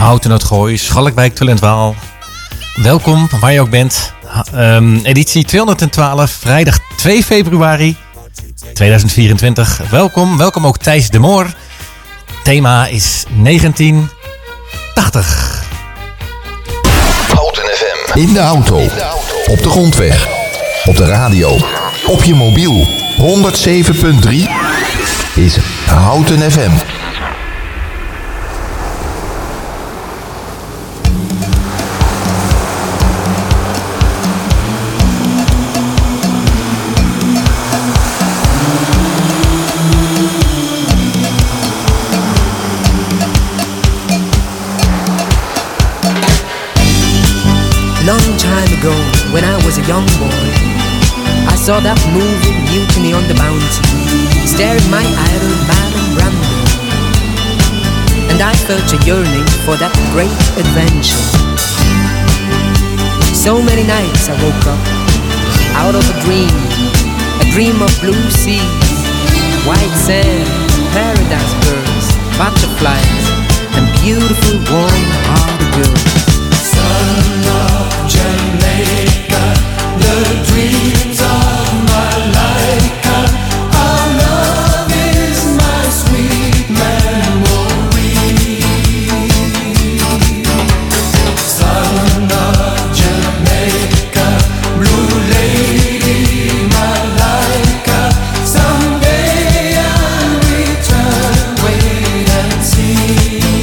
Houten het Gooi, Schalkwijk, Tullentwaal. Welkom, waar je ook bent. Editie 212, vrijdag 2 februari 2024. Welkom ook Thijs de Moor. Thema is 1980. Houten FM. In de auto, op de grondweg, op de radio, op je mobiel. 107.3 is Houten FM. Long time ago, when I was a young boy, I saw that movie Mutiny on the Bounty, staring my idol Marlon Brando, and I felt a yearning for that great adventure. So many nights I woke up out of a dream of blue seas, white sand, paradise birds, butterflies, and beautiful warm-hearted girls. Son of Jamaica, the dreams of my life, our love is my sweet memory. Son of Jamaica, blue lady, my like, someday I'll return, wait and see.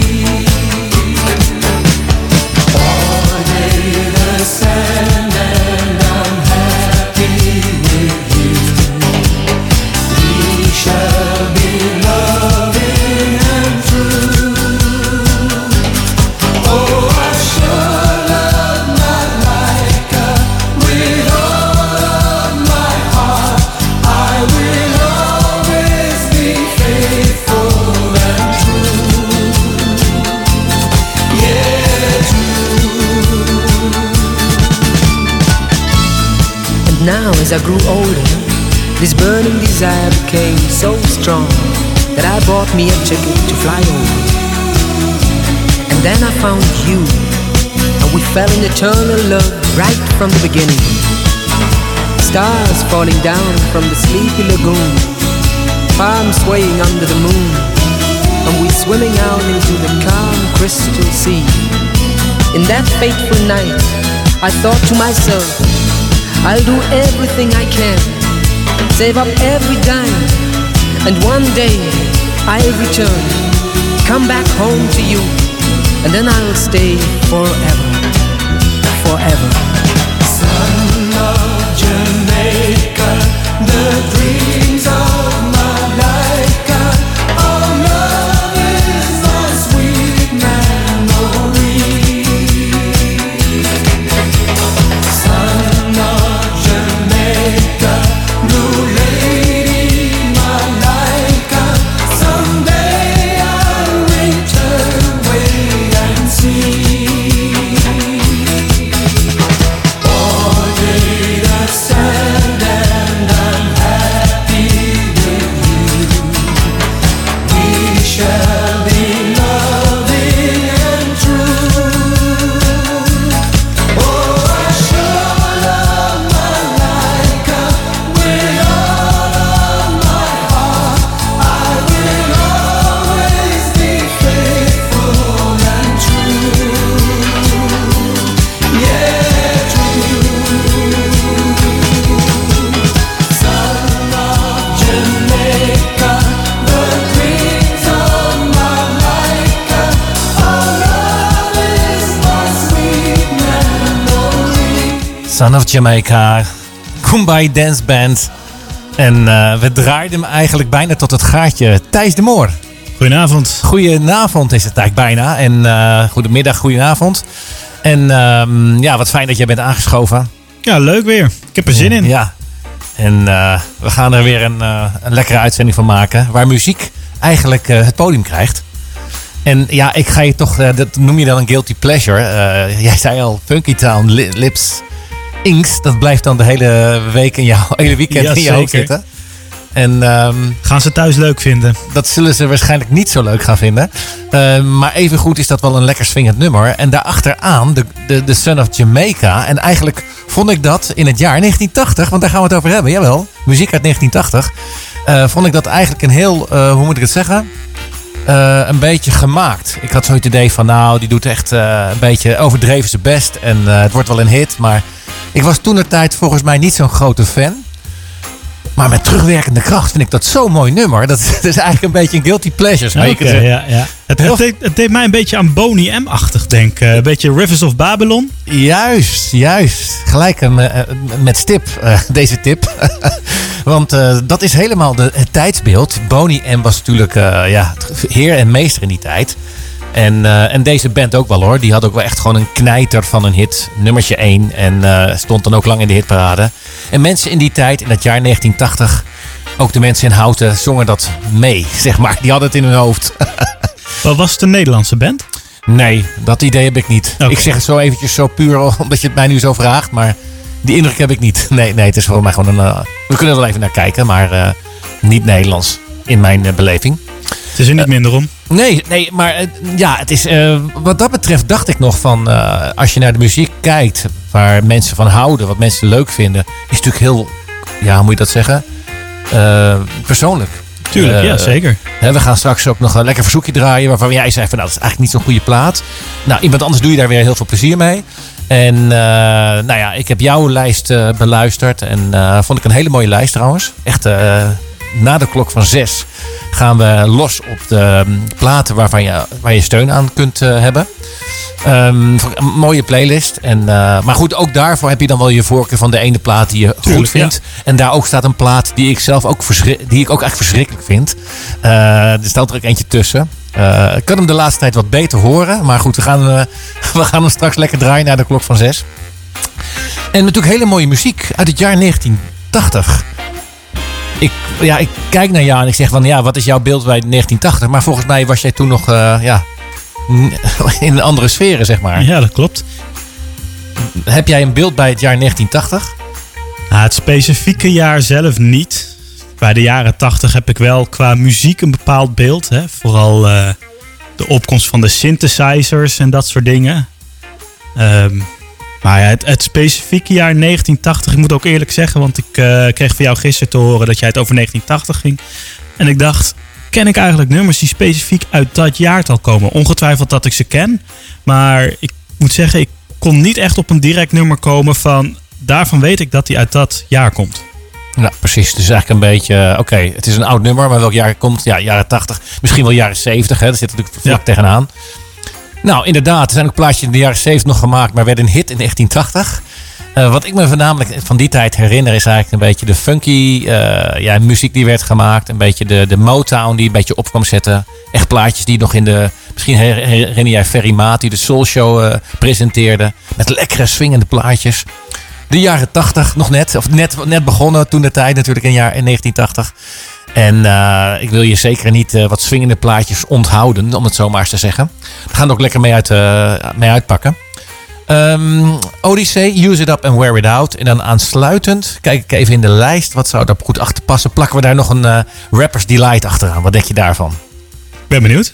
Sand and I'm happy with you. We shall be loving and true. Oh, I sure love my Laika with all of my heart. I will always be faithful and true. Yeah, true. Now as I grew older, this burning desire became so strong that I bought me a ticket to fly over. And then I found you, and we fell in eternal love right from the beginning. Stars falling down from the sleepy lagoon, palms swaying under the moon, and we swimming out into the calm crystal sea. In that fateful night, I thought to myself, I'll do everything I can, save up every dime, and one day I'll return, come back home to you, and then I'll stay forever, forever. Son of Jamaica, the dreams of my life, our love is my sweet memory. Son of Jamaica, blue lady, my like, someday I'll return, wait and see. Order the sand and I'm happy with you. We shall be loving and true. Oh, I sure love my Laika with all of my heart. I will always be faithful and true. Yeah, true. Son of Jamaica, the dreams of my life, our love is my sweet memory. Son of Jamaica, Kumbaya Dance Band. En we draaiden hem eigenlijk bijna tot het gaatje. Thijs de Moor. Goedenavond. Goedenavond is het eigenlijk bijna. En goedemiddag, goedenavond. En ja, wat fijn dat jij bent aangeschoven. Ja, leuk weer. Ik heb er zin in. Ja. En we gaan er weer een lekkere uitzending van maken. Waar muziek eigenlijk het podium krijgt. En ja, ik ga je toch, dat noem je dan een guilty pleasure. Jij zei al, Funky Town, Lips, Inks. Dat blijft dan de hele week en jouw hele weekend Ja, in je hoofd zeker. zitten. En Gaan ze thuis leuk vinden? dat zullen ze waarschijnlijk niet zo leuk gaan vinden. Maar evengoed is dat wel een lekker swingend nummer. En daarachteraan de Son of Jamaica. En eigenlijk vond ik dat in het jaar 1980, want daar gaan we het over hebben. Jawel, muziek uit 1980. Vond ik dat eigenlijk een heel, hoe moet ik het zeggen? Een beetje gemaakt. Ik had zo het idee van, nou, die doet echt een beetje overdreven zijn best. En het wordt wel een hit. Maar ik was toentertijd volgens mij niet zo'n grote fan. Maar met terugwerkende kracht vind ik dat zo'n mooi nummer. Dat is eigenlijk een beetje een guilty pleasure. zou je kunnen zeggen. ja. Het deed mij een beetje aan Boney M-achtig denken. Een beetje Rivers of Babylon. Juist. Gelijk met stip, deze tip. Want dat is helemaal het tijdsbeeld. Boney M was natuurlijk heer en meester in die tijd. En deze band ook wel hoor. Die had ook wel echt gewoon een knijter van een hit. Nummertje 1. En stond dan ook lang in de hitparade. En mensen in die tijd, in het jaar 1980... ook de mensen in Houten zongen dat mee, zeg maar. Die hadden het in hun hoofd. Wat was het een Nederlandse band? Nee, dat idee heb ik niet. Okay. Ik zeg het zo eventjes zo puur omdat je het mij nu zo vraagt. Maar die indruk heb ik niet. Nee, het is voor mij gewoon een... we kunnen er wel even naar kijken, maar niet Nederlands in mijn beleving. Het is er niet minder om. Nee, maar het is... wat dat betreft dacht ik nog van... als je naar de muziek kijkt waar mensen van houden, wat mensen leuk vinden, is natuurlijk heel... Ja, hoe moet je dat zeggen? Persoonlijk. Tuurlijk, ja, zeker. We gaan straks ook nog een lekker verzoekje draaien waarvan jij zei van, nou, dat is eigenlijk niet zo'n goede plaat. Nou, iemand anders doe je daar weer heel veel plezier mee. En ik heb jouw lijst beluisterd en vond ik een hele mooie lijst trouwens. Echt, na de klok van 6 gaan we los op de platen waar je steun aan kunt hebben. Een mooie playlist. Maar goed, ook daarvoor heb je dan wel je voorkeur van de ene plaat die je goed vindt. Ja. En daar ook staat een plaat die ik zelf ook echt verschrikkelijk vind. Er staat er ook eentje tussen. Ik kan hem de laatste tijd wat beter horen. Maar goed, we gaan hem straks lekker draaien naar de klok van 6. En natuurlijk hele mooie muziek uit het jaar 1980. Ik kijk naar jou en ik zeg van, ja, wat is jouw beeld bij 1980? Maar volgens mij was jij toen nog in een andere sferen, zeg maar. Ja, dat klopt. Heb jij een beeld bij het jaar 1980? Het specifieke jaar zelf niet. Bij de jaren 80 heb ik wel qua muziek een bepaald beeld. Hè? Vooral de opkomst van de synthesizers en dat soort dingen. Maar het specifieke jaar 1980, ik moet ook eerlijk zeggen, want ik kreeg van jou gisteren te horen dat jij het over 1980 ging. En ik dacht, ken ik eigenlijk nummers die specifiek uit dat jaartal komen? Ongetwijfeld dat ik ze ken, maar ik moet zeggen, ik kon niet echt op een direct nummer komen van, daarvan weet ik dat die uit dat jaar komt. Ja, precies. Het is eigenlijk een beetje, oké, het is een oud nummer, maar welk jaar komt? Ja, jaren 80, misschien wel jaren 70, hè? Dat zit natuurlijk vlak tegenaan. Nou, inderdaad, er zijn ook plaatjes in de jaren 70 nog gemaakt, maar werden een hit in 1980. Wat ik me voornamelijk van die tijd herinner is eigenlijk een beetje de funky muziek die werd gemaakt. Een beetje de Motown die een beetje op kwam zetten. Echt plaatjes die nog in de... Misschien herinner jij Ferry Maat die de Soul Show presenteerde. Met lekkere swingende plaatjes. De jaren 80 nog net. Of net begonnen toen de tijd natuurlijk in 1980. En ik wil je zeker niet wat swingende plaatjes onthouden, om het zo maar eens te zeggen. We gaan er ook lekker mee uitpakken. Odyssey, Use It Up and Wear It Out. En dan aansluitend, kijk ik even in de lijst. Wat zou daar goed achter passen? Plakken we daar nog een Rapper's Delight achteraan. Wat denk je daarvan? Ik ben benieuwd.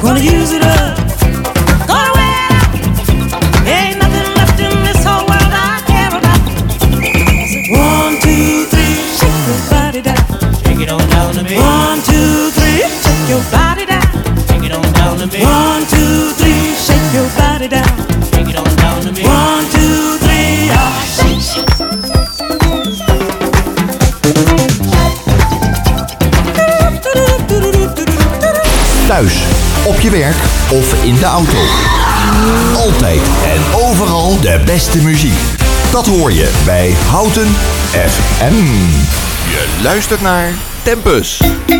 Gonna use it up. Gonna wear it out. Ain't nothing left in this whole world I care about. I said, 1, 2, 3, shake your body down. Shake it on down to me. 1, 2, 3, shake your body down. Shake it on down to me. 1, 2, 3, shake your body down. Shake it on down to me. 1, 2, 3, ah, shake, shake. Thuis, op je werk of in de auto. Altijd en overal de beste muziek. Dat hoor je bij Houten FM. Je luistert naar Tempus.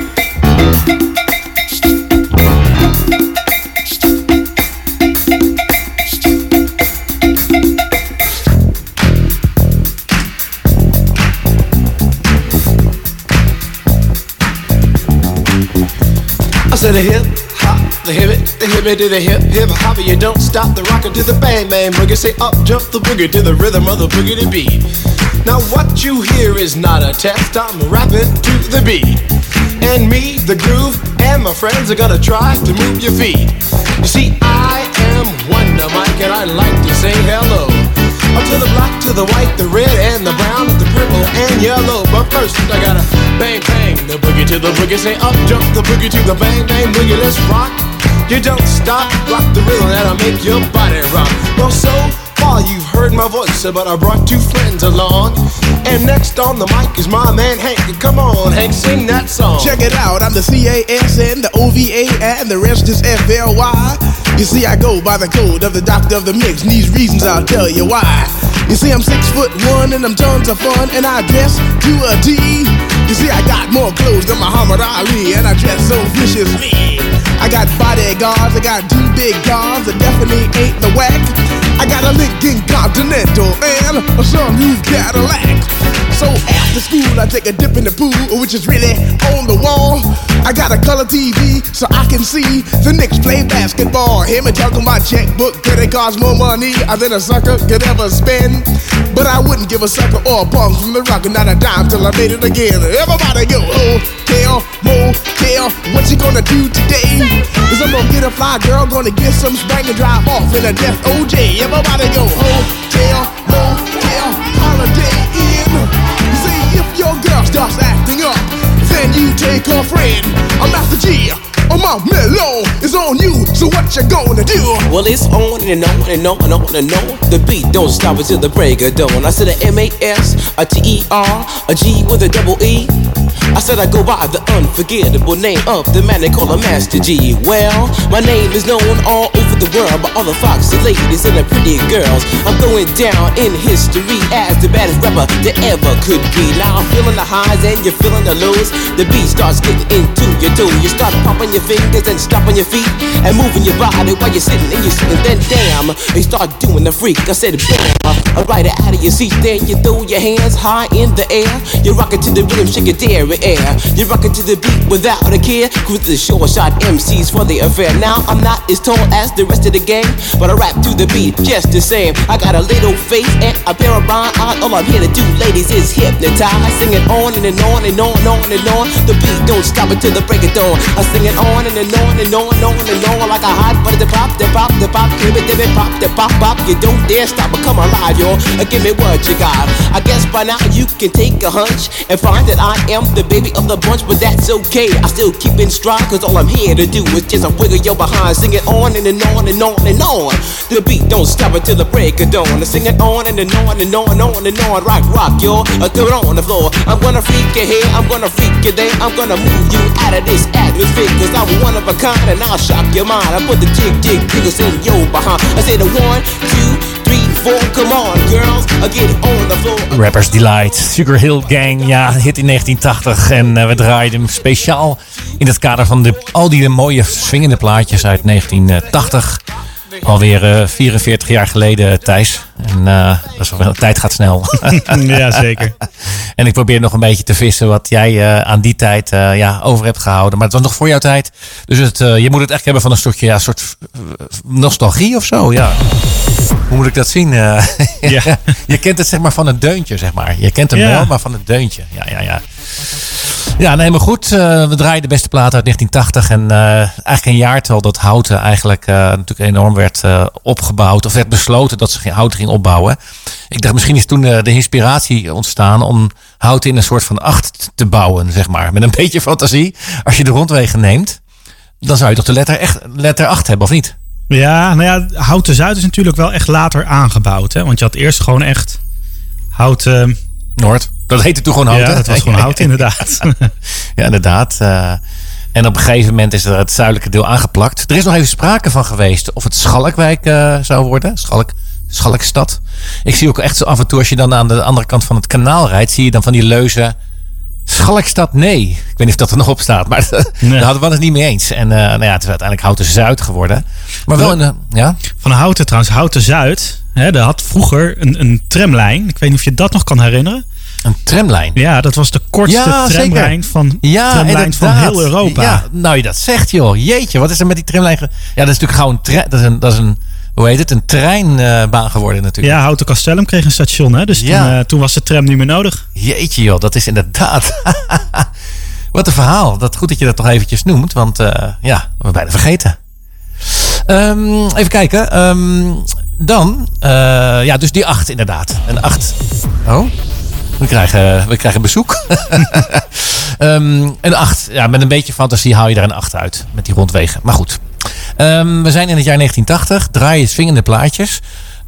I said a hip hop, the hip it to the hip hop. You don't stop the rocker to the bang bang boogie. Say up jump the boogie to the rhythm of the boogie to beat. Now what you hear is not a test. I'm rapping to the beat, and me, the groove, and my friends are gonna try to move your feet. You see, I am Wonder Mike, and I like to say hello. Up to the black, to the white, the red, and the brown, the purple, and yellow. But first, I gotta bang, bang, the boogie to the boogie. Say up, jump the boogie to the bang, bang, boogie. Let's rock. You don't stop, rock the rhythm that'll make your body rock. Well, so far you've heard my voice, but I brought two friends along. And next on the mic is my man Hank. Come on, Hank, sing that song. Check it out, I'm the CASN, the OVA, and the rest is FLY. You see, I go by the code of the doctor of the mix, and these reasons I'll tell you why. You see, I'm 6'1" and I'm tons of fun, and I dress to a T. You see, I got more clothes than Muhammad Ali, and I dress so viciously. I got bodyguards, I got two big cars that definitely ain't the whack. I got a Lincoln Continental and a some new Cadillac. So after school I take a dip in the pool, which is really on the wall. I got a color TV so I can see the Knicks play basketball. Hear me talking my checkbook, credit cards more money than a sucker could ever spend. But I wouldn't give a sucker or a punk from the rock, not a dime till I made it again. Everybody go, hotel, motel, what you gonna do today? Is I'm gonna get a fly girl, gonna get some spank and drive off in a death OJ. Everybody go, hotel, motel, holiday inn. You see, if your girl starts acting up, then you take her friend. I'm Master G. Oh, my mellow is on you, so what you gonna do? Well, it's on and on and on and on and on. The beat don't stop until the break of dawn. I said a M-A-S, a T-E-R, a G with a double E. I said I go by the unforgettable name of the man they call a Master G. Well, my name is known all over the world by all the foxy ladies and the pretty girls. I'm going down in history as the baddest rapper that ever could be. Now I'm feeling the highs and you're feeling the lows. The beat starts getting into your toe. You start popping your fingers and stomping your feet and moving your body while you're sitting and you're sitting. Then damn, you start doing the freak. I said bam, right out of your seat. Then you throw your hands high in the air. You rock it to the rhythm, shake your dairy air. You rock it to the beat without a care. Cruise the short shot MCs for the affair. Now I'm not as tall as the rest of the gang, but I rap to the beat just the same. I got a little face and a pair of rhyme eyes. All I'm here to do, ladies, is hypnotize. Sing it on and on and on and on and on. The beat don't stop until the break of dawn. I sing it on and on and on and on and on like a hot butter. The pop, the pop, the pop, give it, pop, the pop, pop. You don't dare stop or come alive, y'all. Give me what you got. I guess by now you can take a hunch and find that I am the baby of the bunch, but that's okay. I still keep in stride, cause all I'm here to do is just a wiggle your behind. Sing it on and on and on and on. The beat don't stop until the break of dawn. I sing it on and on and on and on and on. Rock, rock, y'all. Throw it on the floor. I'm gonna freak you here, I'm gonna freak you there. I'm gonna move you out of this atmosphere, cause I'm one of a kind and I'll shock your mind. I put the jiggles in your behind. I say the 1, 2, 3, 4, come on girls, I get on the floor. Rappers Delight, Sugar Hill Gang, ja, hit in 1980 en we draaiden hem speciaal in het kader van al die mooie swingende plaatjes uit 1980. Alweer 44 jaar geleden, Thijs. En dat is wel, de tijd gaat snel. Ja, zeker. En ik probeer nog een beetje te vissen wat jij aan die tijd over hebt gehouden. Maar het was nog voor jouw tijd. Dus je moet het echt hebben van een soort nostalgie of zo. Ja. Hoe moet ik dat zien? Ja. Je kent het zeg maar van het deuntje, zeg maar. Je kent hem wel, maar van het deuntje. Ja. Ja, nee, maar goed. We draaien de beste plaat uit 1980. En eigenlijk een jaartal dat Houten eigenlijk natuurlijk enorm werd opgebouwd. Of werd besloten dat ze Houten ging opbouwen. Ik dacht, misschien is toen de inspiratie ontstaan om Houten in een soort van 8 te bouwen, zeg maar. Met een beetje fantasie. Als je de rondwegen neemt, dan zou je toch de letter 8 hebben, of niet? Ja, nou ja, Houten Zuid is natuurlijk wel echt later aangebouwd. Hè? Want je had eerst gewoon echt Houten Noord. Dat heette toen gewoon Houten. Ja, dat was gewoon Houten, inderdaad. Ja, inderdaad. En op een gegeven moment is er het zuidelijke deel aangeplakt. Er is nog even sprake van geweest of het Schalkwijk zou worden. Schalkstad. Ik zie ook echt zo af en toe, als je dan aan de andere kant van het kanaal rijdt, zie je dan van die leuzen. Schalkstad, nee. Ik weet niet of dat er nog op staat, maar daar hadden we het niet mee eens. En nou ja, het is uiteindelijk Houten Zuid geworden. Maar wel ja? Van Houten trouwens, Houten Zuid. Hè, daar had vroeger een tramlijn. Ik weet niet of je dat nog kan herinneren. Een tramlijn? Ja, dat was de kortste tramlijn van heel Europa. Ja, nou je dat zegt joh. Jeetje, wat is er met die tramlijn? Ja, dat is natuurlijk gewoon dat is een hoe heet het? Een treinbaan geworden natuurlijk. Ja, Houten Castellum kreeg een station. Hè? Dus toen was de tram niet meer nodig. Jeetje joh, dat is inderdaad. Wat een verhaal. Goed dat je dat toch eventjes noemt. Want ja, we bijna vergeten. Even kijken. Dan, ja, dus die 8 inderdaad. Een 8. Oh, we krijgen bezoek. Een 8. Ja, met een beetje fantasie haal je daar een 8 uit. Met die rondwegen. Maar goed. We zijn in het jaar 1980. Draai je swingende plaatjes.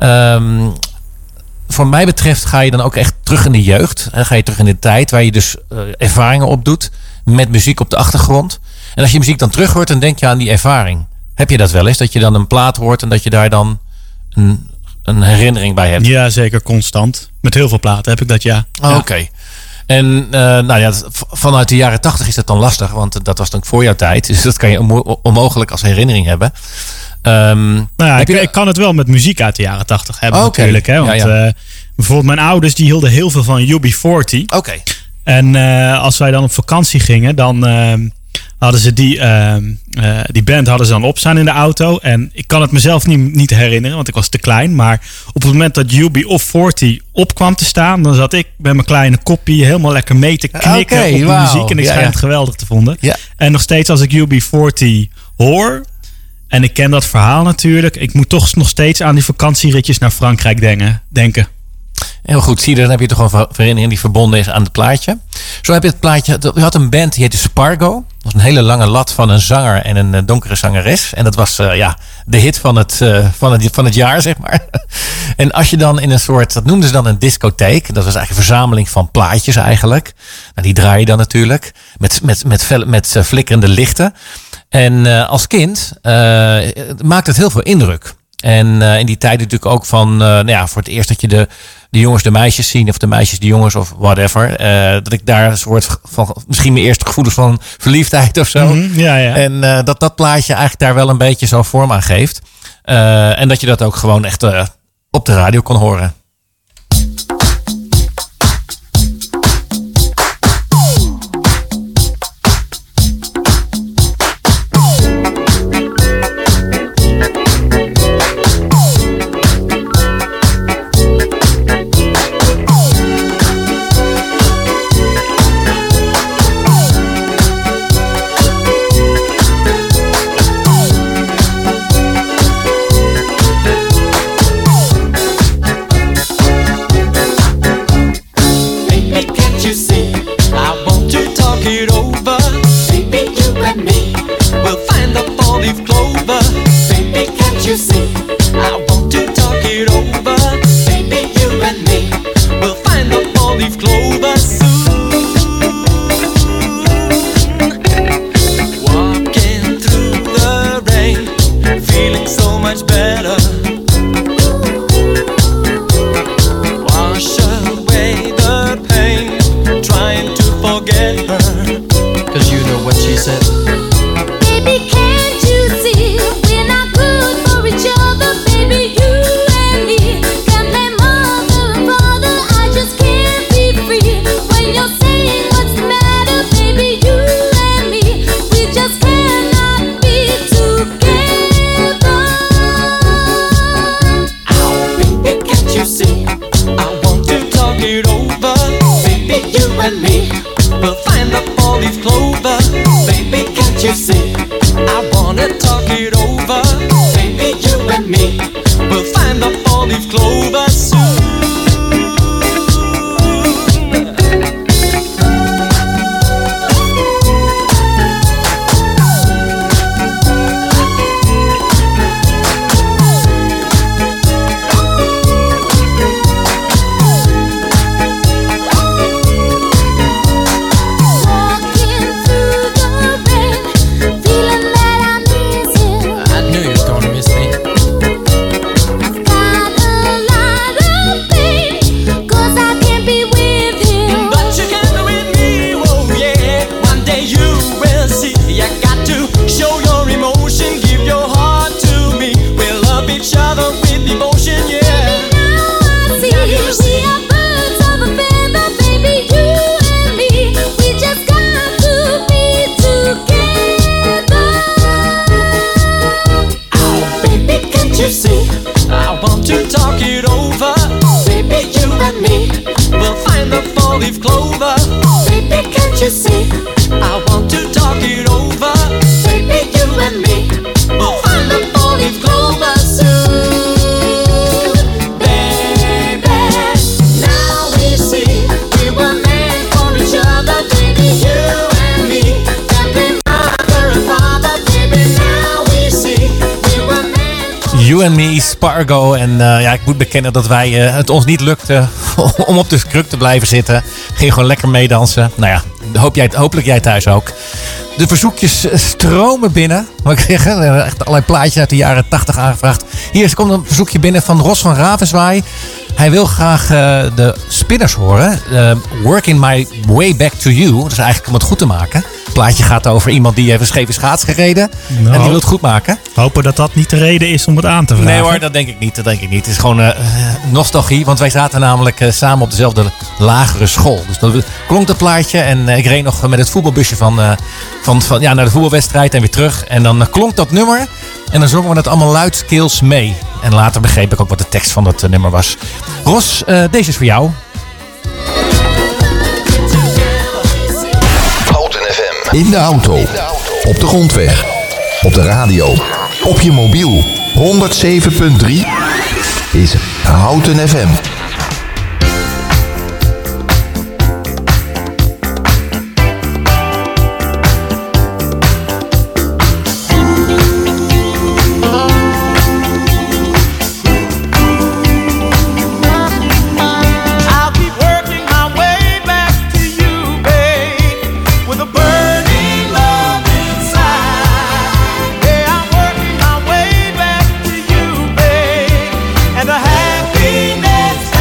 Voor mij betreft ga je dan ook echt terug in de jeugd. Ga je terug in de tijd waar je dus ervaringen opdoet. Met muziek op de achtergrond. En als je muziek dan terug hoort, dan denk je aan die ervaring. Heb je dat wel eens? Dat je dan een plaat hoort en dat je daar dan een herinnering bij hebt? Ja, zeker constant. Met heel veel platen heb ik dat, ja. Oh, oké. En nou ja, vanuit de jaren 80 is dat dan lastig. Want dat was dan voor jouw tijd. Dus dat kan je onmogelijk als herinnering hebben. Nou ja, ik kan het wel met muziek uit de jaren 80 hebben natuurlijk. Hè? Want bijvoorbeeld mijn ouders die hielden heel veel van UB40. Oké. En als wij dan op vakantie gingen, dan hadden ze die band hadden ze dan opstaan in de auto. En ik kan het mezelf niet herinneren, want ik was te klein. Maar op het moment dat UB40 op kwam te staan, dan zat ik met mijn kleine koppie helemaal lekker mee te knikken op de muziek. En ik schijn het geweldig te vonden. Ja. En nog steeds als ik UB40 hoor, en ik ken dat verhaal natuurlijk, ik moet toch nog steeds aan die vakantieritjes naar Frankrijk denken. Heel goed, zie je, dan heb je toch een herinnering die verbonden is aan het plaatje. Zo heb je het plaatje, je had een band die heette Spargo. Dat was een hele lange lat van een zanger en een donkere zangeres. En dat was de hit van het jaar, zeg maar. En als je dan in een soort, dat noemden ze dan een discotheek. Dat was eigenlijk een verzameling van plaatjes eigenlijk. Nou, die draai je dan natuurlijk met flikkerende lichten. En als kind maakt het heel veel indruk. En in die tijd natuurlijk ook van, voor het eerst dat je de jongens de meisjes zien, of de meisjes de jongens, of whatever. Dat ik daar een soort van, misschien mijn eerste gevoelens van verliefdheid of zo. Mm-hmm, ja. En dat plaatje eigenlijk daar wel een beetje zo vorm aan geeft. En dat je dat ook gewoon echt op de radio kon horen. to talk it over. Baby, you and me will find the four-leaf clover. Baby, can't you see? I want to talk it over. Baby, you and me will find the four-leaf clover soon. Baby, now we see we were meant for each other. Baby, you and me can be mother and father. Baby, now we see we were meant for You and Me, Spargo. En ja, ik moet bekennen dat wij het ons niet lukte om op de kruk te blijven zitten. Ging gewoon lekker meedansen. Nou ja, hopelijk jij thuis ook. De verzoekjes stromen binnen. Moet ik zeggen, echt allerlei plaatjes uit de jaren 80 aangevraagd. Hier komt een verzoekje binnen van Ros van Ravenswaai. Hij wil graag de Spinners horen. Working My Way Back to You. Dat is eigenlijk om het goed te maken. Het plaatje gaat over iemand die heeft een scheve schaats gereden. Nou, en die wil het goed maken. Hopen dat dat niet de reden is om het aan te vragen. Nee hoor, dat denk ik niet. Het is gewoon nostalgie. Want wij zaten namelijk samen op dezelfde lagere school. Dus dat klonk dat plaatje. En ik reed nog met het voetbalbusje naar de voetbalwedstrijd en weer terug. En dan klonk dat nummer. En dan zongen we het allemaal luidkeels mee. En later begreep ik ook wat de tekst van dat nummer was. Ros, deze is voor jou. Houten FM. In de auto, op de grondweg, op de radio, op je mobiel. 107.3 is Houten FM. happiness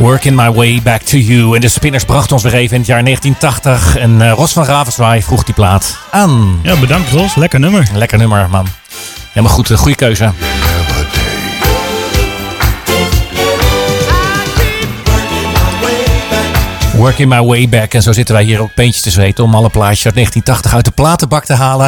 Working My Way Back to You. En de Spinners brachten ons weer even in het jaar 1980. En Ros van Ravenswaay vroeg die plaat aan. Ja, bedankt Ros. Lekker nummer. Lekker nummer, man. Helemaal goed. Goede keuze. Working My Way Back. En zo zitten wij hier ook peentjes te zweten om alle plaatjes uit 1980 uit de platenbak te halen.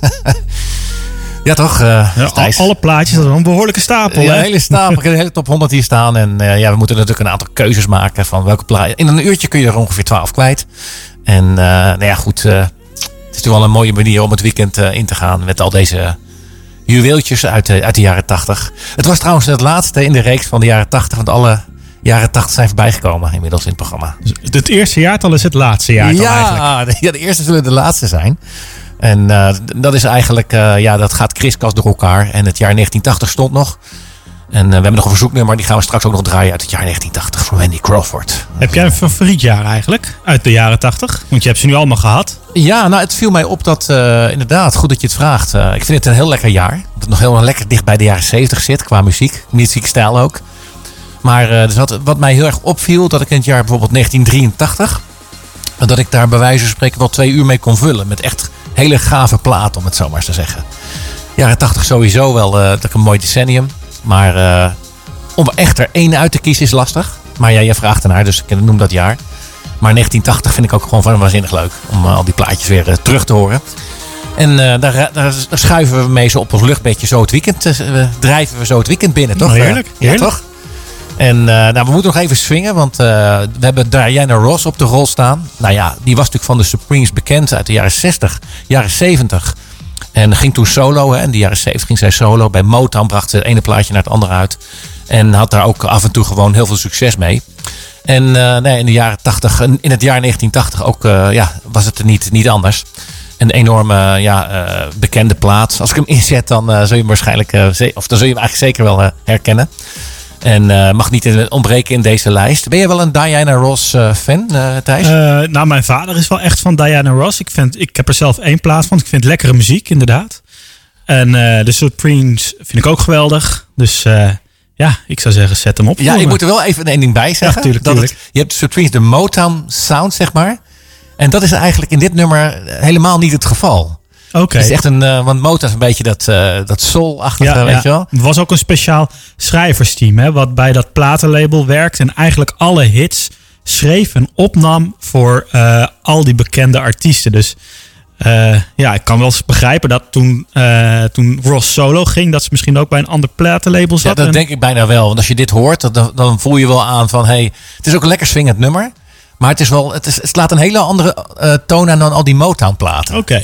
Ja, toch? Thijs? Alle plaatjes, dat is wel een behoorlijke stapel. Ja, hè? een hele stapel. Ik heb de hele top 100 hier staan. En we moeten natuurlijk een aantal keuzes maken van welke plaat. In een uurtje kun je er ongeveer 12 kwijt. En goed. Het is natuurlijk wel een mooie manier om het weekend in te gaan met al deze juweeltjes uit de jaren 80. Het was trouwens het laatste in de reeks van de jaren 80. Want alle jaren 80 zijn voorbijgekomen inmiddels in het programma. Dus het eerste jaartal is het laatste jaartal eigenlijk. Ja, de eerste zullen de laatste zijn. En dat is eigenlijk, dat gaat kriskast door elkaar. En het jaar 1980 stond nog. En we hebben nog een verzoeknummer, die gaan we straks ook nog draaien uit het jaar 1980 van Wendy Crawford. Heb jij een favoriet jaar eigenlijk uit de jaren 80? Want je hebt ze nu allemaal gehad. Ja, nou het viel mij op dat inderdaad, goed dat je het vraagt. Ik vind het een heel lekker jaar. Dat het nog heel lekker dicht bij de jaren 70 zit qua muziekstijl ook. Maar dus wat mij heel erg opviel, dat ik in het jaar bijvoorbeeld 1983... dat ik daar bij wijze van spreken wel 2 uur mee kon vullen. Met echt hele gave platen, om het zo maar eens te zeggen. Jaren 80 sowieso wel dat een mooi decennium. Maar om echt er één uit te kiezen is lastig. Maar ja, jij vraagt ernaar, dus ik noem dat jaar. Maar 1980 vind ik ook gewoon van waanzinnig leuk. Om al die plaatjes weer terug te horen. En daar schuiven we mee zo op ons luchtbedje zo het weekend. Drijven we zo het weekend binnen, toch? Heerlijk. Ja, toch? En we moeten nog even swingen, want we hebben Diana Ross op de rol staan. Nou ja, die was natuurlijk van de Supremes bekend uit de jaren 60, jaren 70. En ging toen solo, hè. In de jaren 70 ging zij solo. Bij Motown bracht ze het ene plaatje naar het andere uit. En had daar ook af en toe gewoon heel veel succes mee. En in de jaren 80, in het jaar 1980 ook, was het er niet anders. Een enorme bekende plaat. Als ik hem inzet, dan zul je hem waarschijnlijk, dan zul je hem eigenlijk zeker wel herkennen. En mag niet ontbreken in deze lijst. Ben je wel een Diana Ross fan, Thijs? Nou, mijn vader is wel echt van Diana Ross. Ik heb er zelf 1 plaat van. Ik vind lekkere muziek, inderdaad. En de Supremes vind ik ook geweldig. Dus ik zou zeggen, zet hem op. Ja, ik moet er wel even één ding bij zeggen. Ja, tuurlijk. Je hebt de Supremes, de Motown sound, zeg maar. En dat is eigenlijk in dit nummer helemaal niet het geval. Oké. Het is echt want Motown is een beetje dat soul-achtige, weet je wel. Er was ook een speciaal schrijversteam, hè, wat bij dat platenlabel werkt en eigenlijk alle hits schreef en opnam voor al die bekende artiesten. Dus ik kan wel eens begrijpen dat toen Ross solo ging, dat ze misschien ook bij een ander platenlabel zat. Ja, dat denk ik bijna wel. Want als je dit hoort, dan voel je wel aan van, hey, het is ook een lekker swingend nummer. Maar het slaat een hele andere toon aan dan al die Motown-platen. Oké.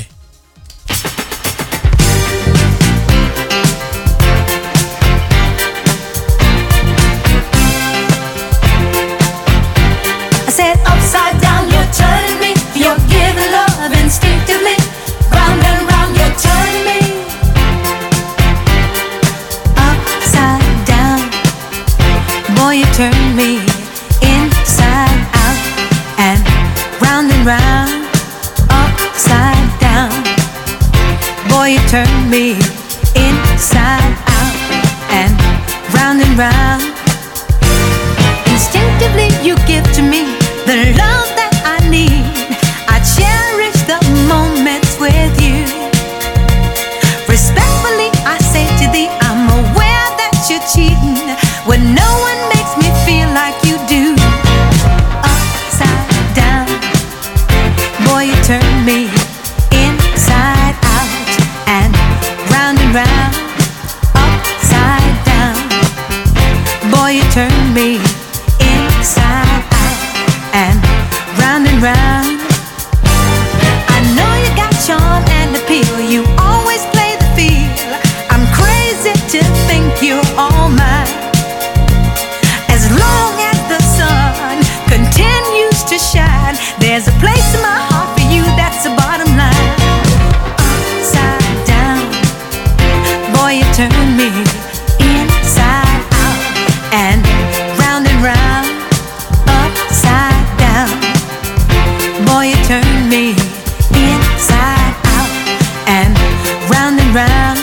Turn me inside out and round, upside down. Boy, you turn me inside out and round. Instinctively, you give to me the love that I need. I cherish the moments with you. Respectfully, I say to thee, I'm aware that you're cheating when no one makes me feel like you do. Upside down, boy, you turn me inside out and round, upside down. Boy, you turn me inside out and round. I know you got charm and appeal, you always play the field. I'm crazy to think you're all mine. As long as the sun continues to shine, there's a place in my heart for you, that's the bottom line. Upside down, boy, you turn me inside out and round, upside down. Boy, you turn me inside out and round.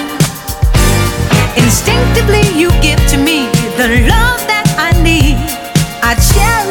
Instinctively, you give to me the love that I need. I cherish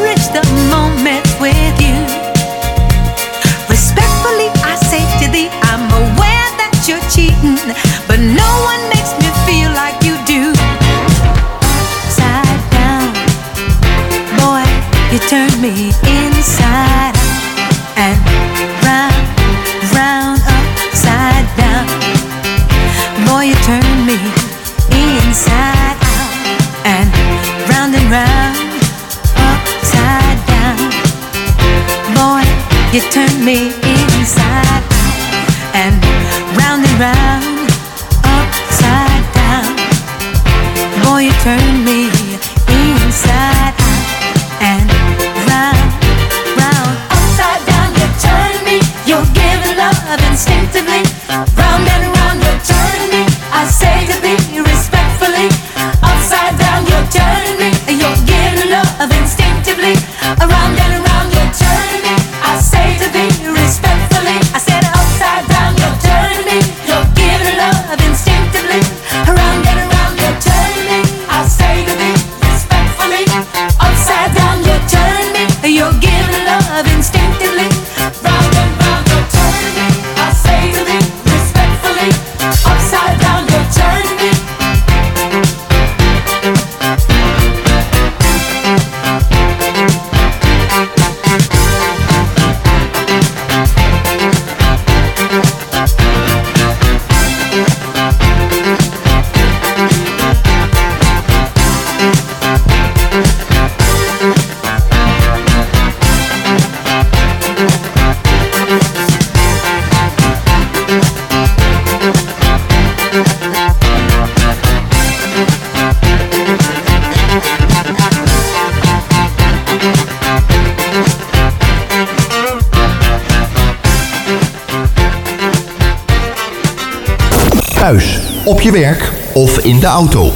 cheating, but no one makes me feel like you do. Upside down, boy, you turn me inside out and round, round, upside down. Boy, you turn me inside out and round, upside down. Boy, you turn me inside out and round, upside down. Boy, you turn me inside out and round, upside down. You turn me, you're giving love instinctively. Round and round, you turn me, I say to thee respectfully. Upside down, you turn me, you're giving love instinctively. Around and around, you turn me, I say to thee respectfully. I said upside down, you turn me, you're giving love instinctively. Around and around, you turn me, I say to thee respectfully. Upside down, you turn me, you're giving love instinctively. Round and round, you turn me, I say to thee respectfully. Upside down, you turn me. Thuis, op je werk of in de auto.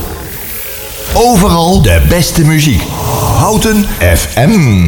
Overal de beste muziek. Houten FM.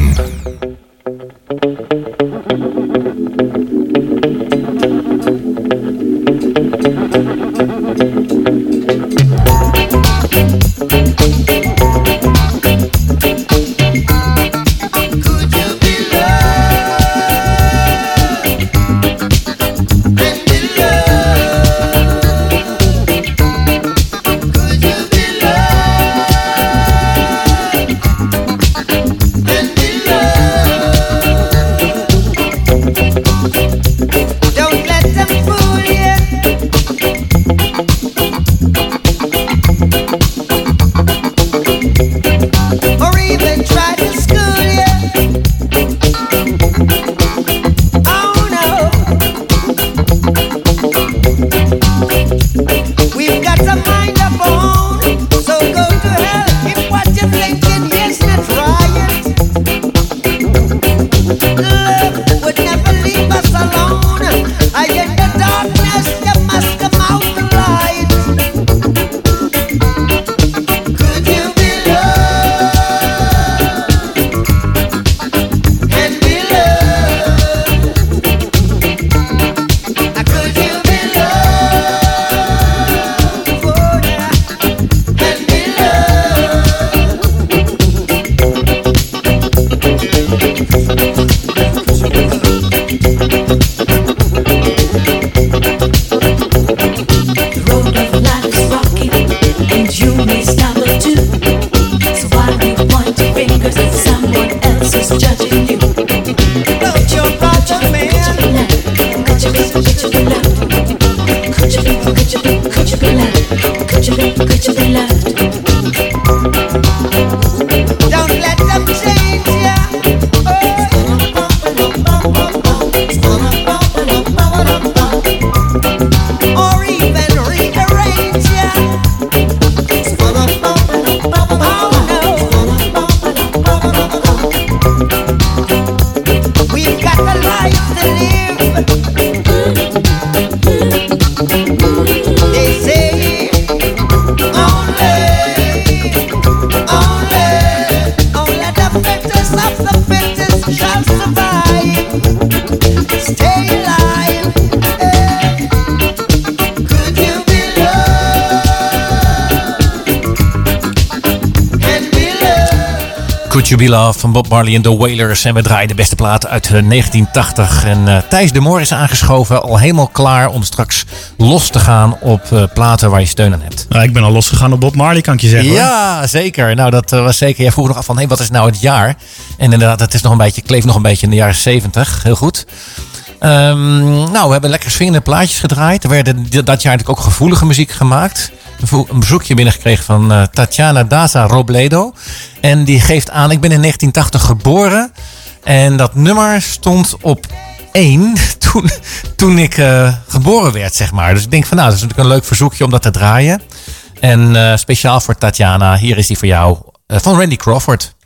They say only Could You Be Loved van Bob Marley en The Wailers. En we draaien de beste platen uit 1980. En Thijs de Moor is aangeschoven, al helemaal klaar om straks los te gaan op platen waar je steun aan hebt. Ja, ik ben al losgegaan op Bob Marley, kan ik je zeggen. Ja, hoor. Zeker. Nou, dat was zeker. Jij vroeg nog af van, hey, wat is nou het jaar? En inderdaad, het is nog een beetje, kleeft nog een beetje in de jaren 70. Heel goed. Nou, we hebben lekker swingende plaatjes gedraaid. Er werden dat jaar natuurlijk ook gevoelige muziek gemaakt. Een bezoekje binnengekregen van Tatiana Daza Robledo. En die geeft aan, ik ben in 1980 geboren. En dat nummer stond op 1 toen ik geboren werd, zeg maar. Dus ik denk van, nou, dat is natuurlijk een leuk verzoekje om dat te draaien. En speciaal voor Tatiana, hier is die voor jou, van Randy Crawford.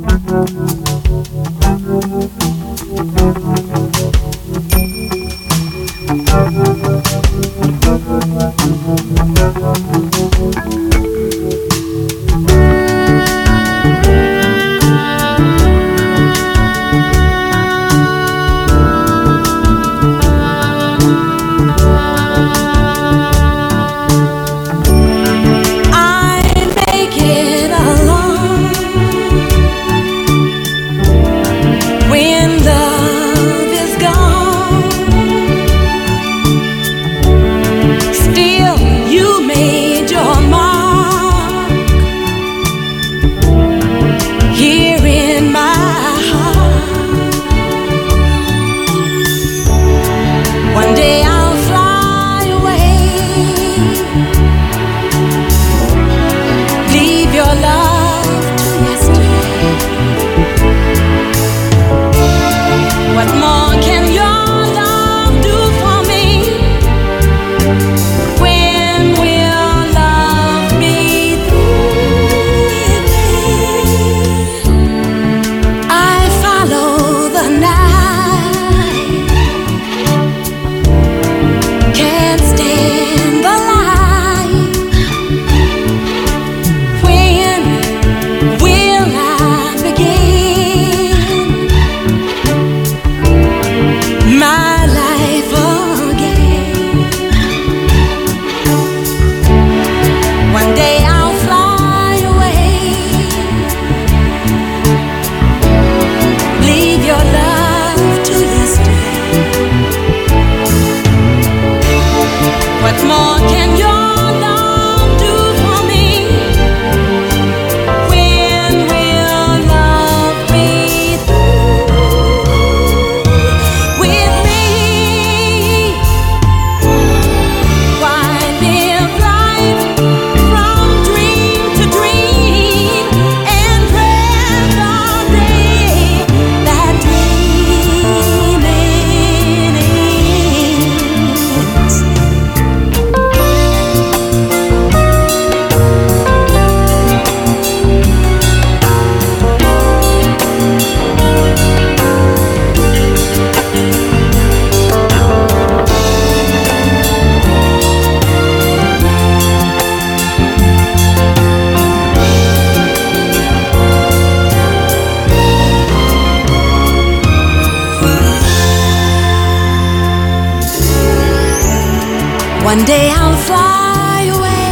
One day I'll fly away.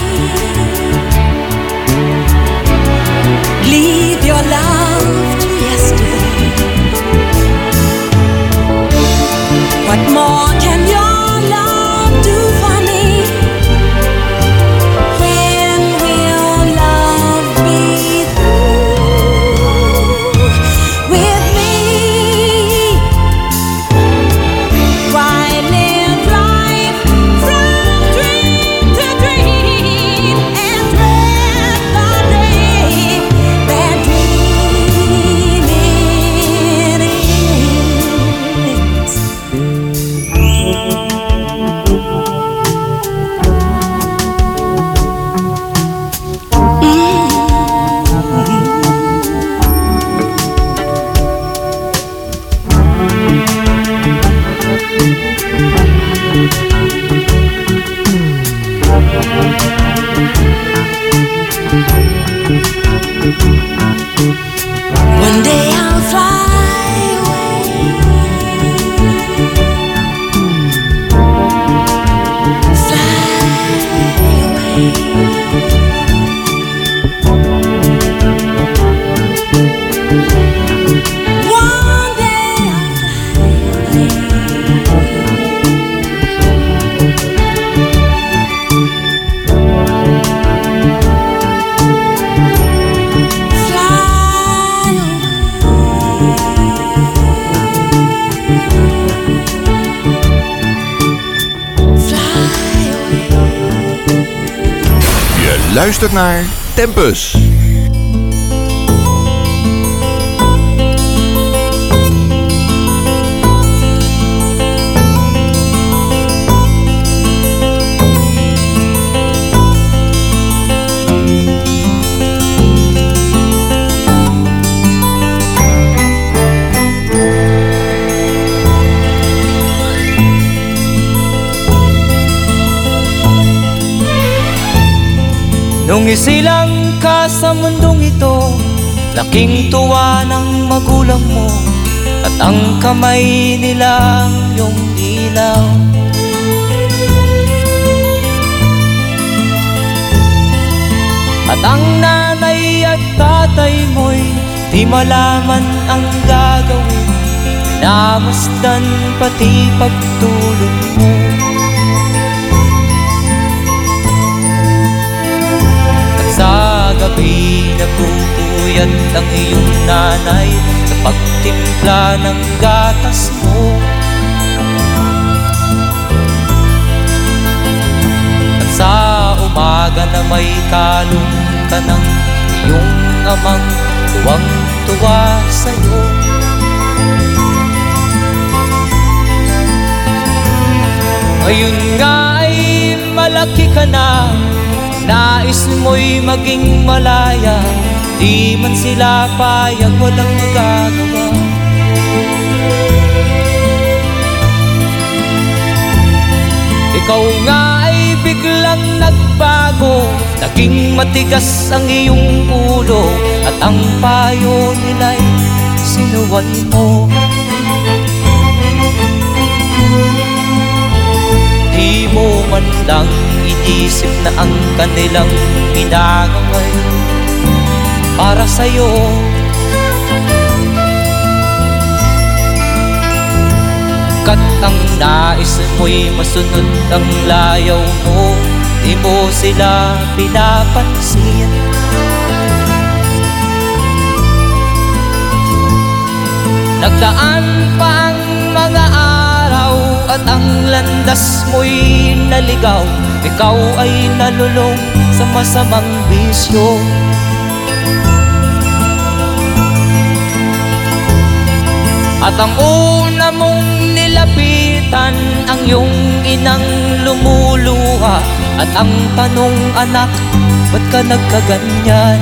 Leave your love to yesterday. What more can your love do for me? When will love be through with me? Why live life from dream to dream and dread the day that dreaming ends? One day I'll fly away. Fly away. luistert naar Tempus. Nung isilang ka sa mundong ito, laking tuwa ng magulang mo, at ang kamay nila ang iyong ilaw. At ang nanay at tatay mo'y di malaman ang gagawin, namasdan pati pagtulog mo. Sa gabi nagpupuyat ang iyong nanay sa pagtimpla ng gatas mo. At sa umaga na may kalong ka ng iyong amang tuwang-tuwa sa'yo. Ngayon nga ay malaki ka na, nais mo'y maging malaya, di man sila payag, walang magagawa. Ikaw nga ay biglang nagbago, naging matigas ang iyong ulo, at ang payo nila'y sinuway mo. Di mo man lang inisip na ang kanilang ginagaway para sa'yo. Kat ang nais mo'y masunod ang layaw mo, di mo sila pinapansin. Nagdaan pa ang mga araw at ang landas mo'y naligaw, ikaw ay nalulong sa masamang bisyo. At ang una mong nilapitan ang iyong inang lumuluha, at ang tanong, anak, ba't ka nagkaganyan?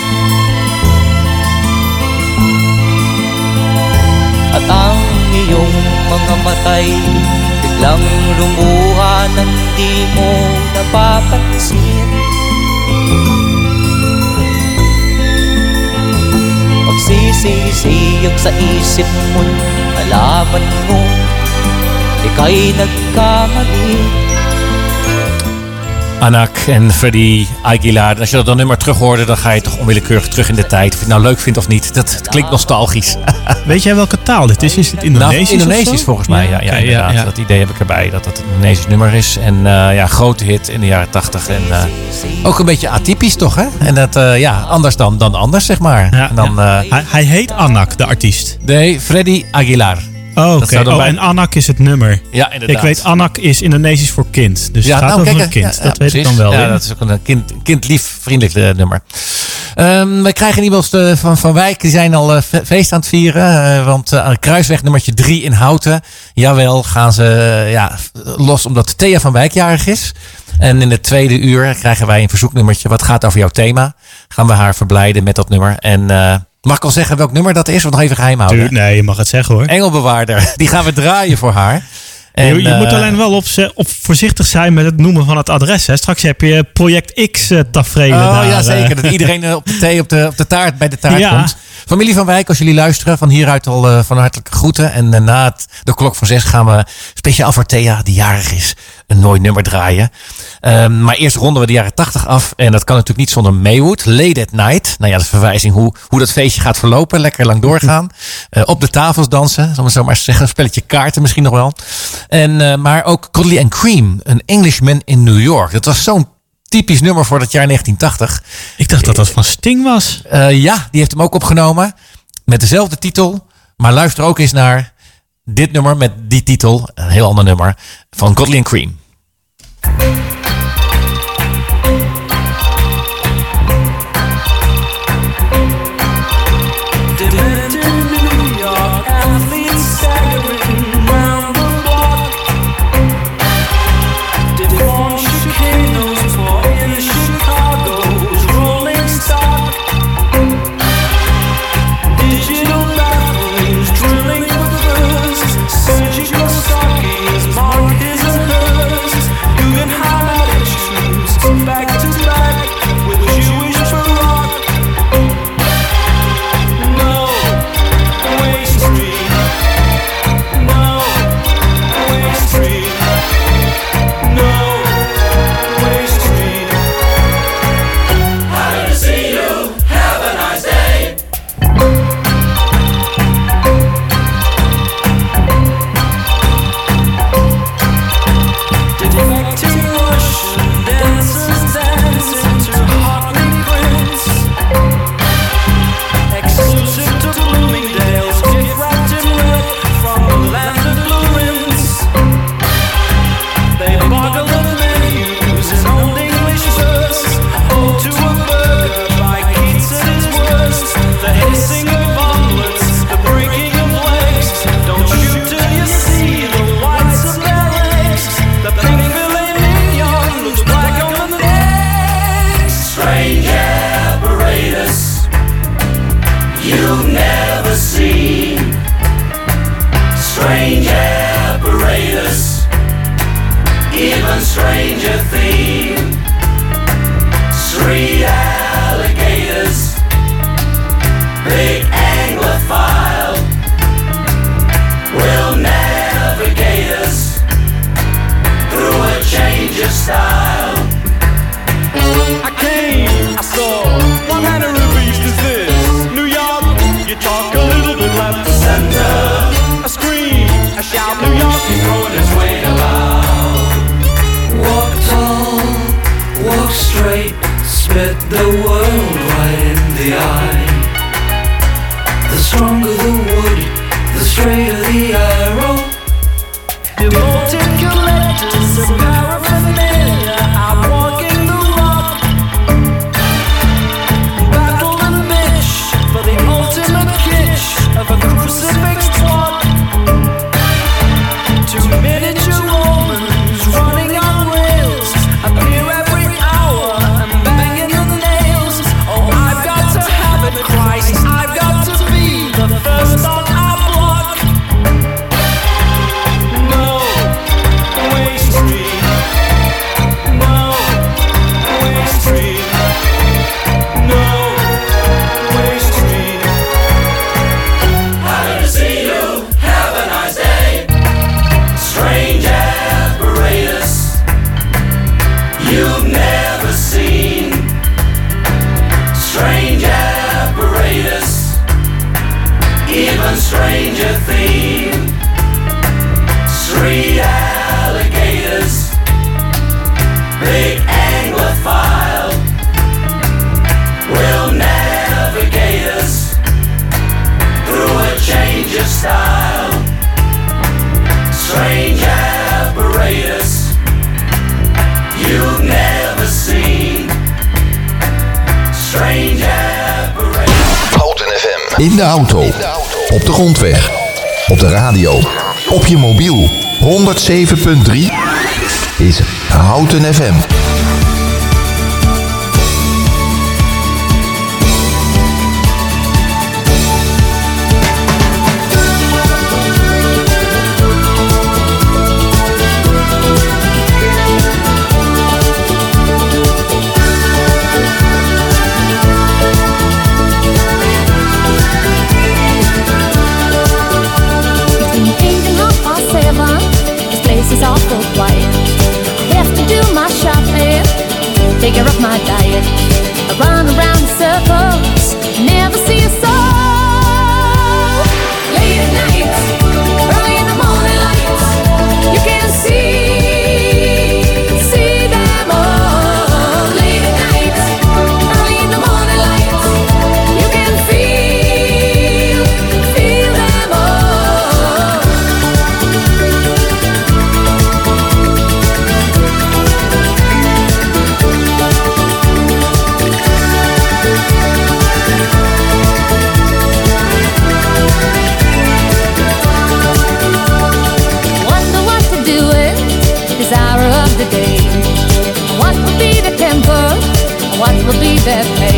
At ang iyong mga matay biglang lumuha nang di mo napapansin. Magsisisiyag sa isip mo, nalaman mo ika'y nagkamali. Anak en Freddie Aguilar. En als je dat dan nummer terug hoorde, dan ga je toch onwillekeurig terug in de tijd. Of je het nou leuk vindt of niet. Dat klinkt nostalgisch. Weet jij welke taal dit is? Is het Indonesisch? Nou, Indonesisch volgens mij. Ja, Okay, inderdaad. ja. Dat idee heb ik erbij. Dat het een Indonesisch nummer is. En grote hit in de jaren 80. En ook een beetje atypisch toch, hè? En dat, anders dan anders, zeg maar. Ja, en dan, hij heet Anak, de artiest. nee, Freddie Aguilar. Oh, Dat oké. zou dan bij- En Anak is het nummer. Ja, inderdaad. Ik weet, Anak is Indonesisch voor kind. Dus het gaat nou, over kijk, een kind. ja, dat weet ik precies. dan wel. Ja, weer. dat is ook een kindlief, vriendelijk nummer. Wij krijgen e-mails van Wijk. Die zijn al feest aan het vieren. Want Kruisweg nummertje 3 in Houten. Jawel, gaan ze los omdat Thea van Wijk jarig is. En in het tweede uur krijgen wij een verzoeknummertje. Wat gaat over jouw thema? Gaan we haar verblijden met dat nummer. En mag ik al zeggen welk nummer dat is? Of nog even geheim houden? Nee, je mag het zeggen hoor. Engelbewaarder. Die gaan we draaien voor haar. En, je moet alleen wel op voorzichtig zijn met het noemen van het adres. Hè. Straks heb je Project X tafereelen daar. Oh ja, zeker. Dat iedereen op de thee op de taart bij de taart Ja. komt. Familie van Wijk, als jullie luisteren, van hieruit al van hartelijke groeten. En na de klok van 6 gaan we speciaal voor Thea, die jarig is, een mooi nummer draaien. Maar eerst ronden we de jaren 80 af. En dat kan natuurlijk niet zonder Maywood. Late at Night. Nou ja, dat is verwijzing hoe dat feestje gaat verlopen. Lekker lang doorgaan. Op de tafels dansen. Zal ik zo maar eens zeggen. Een spelletje kaarten misschien nog wel. Maar ook Cuddly and Cream. An Englishman in New York. Dat was zo'n typisch nummer voor dat jaar 1980. Ik dacht dat dat van Sting was. Ja, die heeft hem ook opgenomen. Met dezelfde titel. Maar luister ook eens naar dit nummer met die titel. Een heel ander nummer. Van Cuddly and Cream. hit the world right in the eye. The stronger the wood, the straighter the arrow. Devoted collectors of paraphernalia are walking the rock. Battle and bitch for the ultimate kitsch of a crucifix twat. Two miniature Romans running on rails appear every hour and banging the nails. Oh, I've got to have it, Christ. I've got to be the first on our block. No way street. No way street. No way street. Happy to see you. Have a nice day. Strange apparatus you've never seen. Strange apparatus, even stranger theme. Street alligators, big anglophile, will navigate us through a change of style. Strange apparatus you've never seen. Strange apparatus. Houten FM. In de auto, op de grondweg, op de radio, op je mobiel. 107.3 is Houten FM. Between 8 and 7:30, this place is awful quiet. I have to do my shopping, take care of my diet. I run around in circles, never see a soul. Late at night, early in the morning light, you can see them all. Late at night, early in the morning light, you can feel them all. Wonder what to do with this hour of the day. What will be the temper? What will be their pay?